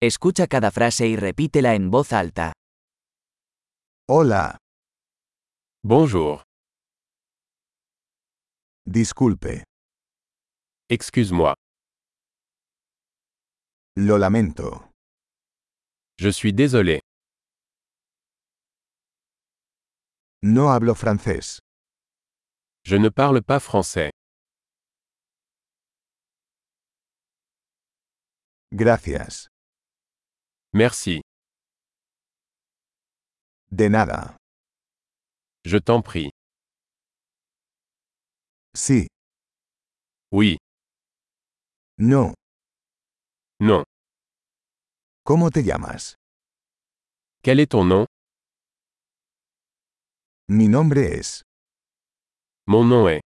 Escucha cada frase y repítela en voz alta. Hola, Bonjour. disculpe, Excuse-moi. lo lamento. Je suis désolé. No hablo francés. Je ne parle pas français. Gracias. Merci. De nada. Je t'en prie. Sí. Oui. No. Non. ¿Cómo te llamas? Quel est ton nom? Mi nombre es. Mon nom est.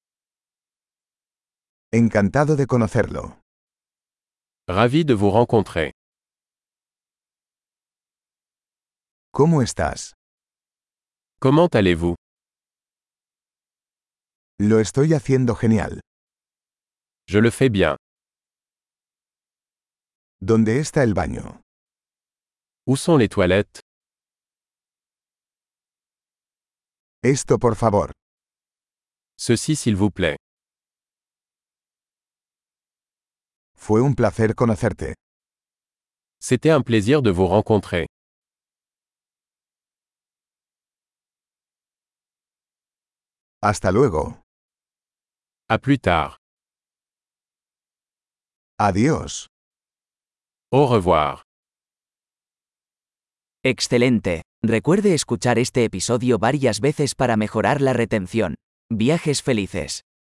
Encantado de conocerlo. Ravi de vous rencontrer. ¿Cómo estás? Comment allez-vous? Lo estoy haciendo genial. Je le fais bien. ¿Dónde está el baño? Où sont les toilettes? Esto por favor. Ceci s'il vous plaît. Fue un placer conocerte. C'était un plaisir de vous rencontrer. Hasta luego. À plus tard. Adiós. Au revoir. Excelente. Recuerde escuchar este episodio varias veces para mejorar la retención. Viajes felices.